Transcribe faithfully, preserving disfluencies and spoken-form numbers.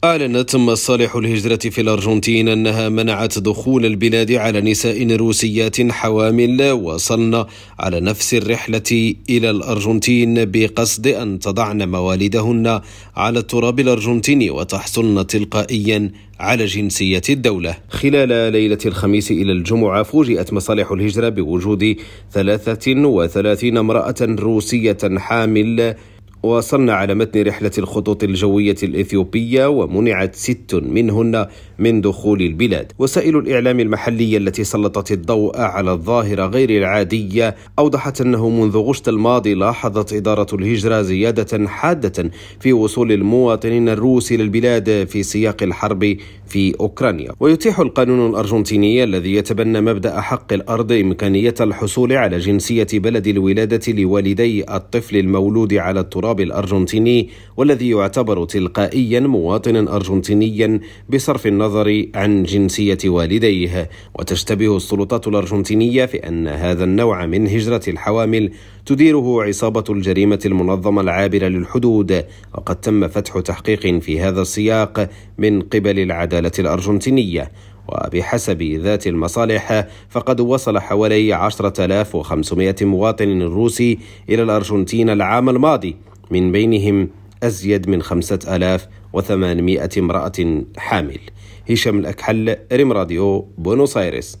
أعلنت مصالح الهجرة في الأرجنتين أنها منعت دخول البلاد على نساء روسيات حوامل وصلن على نفس الرحلة إلى الأرجنتين بقصد أن تضعن مواليدهن على التراب الأرجنتيني وتحصلن تلقائيا على جنسية الدولة. خلال ليلة الخميس إلى الجمعة فوجئت مصالح الهجرة بوجود ثلاثة وثلاثين امرأة روسية حامل وصلن على متن رحلة الخطوط الجوية الإثيوبية، ومنعت ست منهن من دخول البلاد. وسائل الإعلام المحلية التي سلطت الضوء على الظاهرة غير العادية أوضحت أنه منذ غشت الماضي لاحظت إدارة الهجرة زيادة حادة في وصول المواطنين الروس إلى البلاد في سياق الحرب في أوكرانيا. ويتيح القانون الأرجنتيني الذي يتبنى مبدأ حق الأرض إمكانية الحصول على جنسية بلد الولادة لوالدي الطفل المولود على التراب الأرجنتيني، والذي يعتبر تلقائيا مواطنا أرجنتينيا بصرف النظر عن جنسية والديه. وتشتبه السلطات الأرجنتينية في أن هذا النوع من هجرة الحوامل تديره عصابة الجريمة المنظمة العابرة للحدود، وقد تم فتح تحقيق في هذا السياق من قبل العدالة الأرجنتينية. وبحسب ذات المصالح فقد وصل حوالي عشرة آلاف وخمسمائة مواطن روسي إلى الأرجنتين العام الماضي، من بينهم أزيد من خمسة آلاف وثمانمائة امرأة حامل. هشام الأكحل، ريم راديو، بونوس آيرس.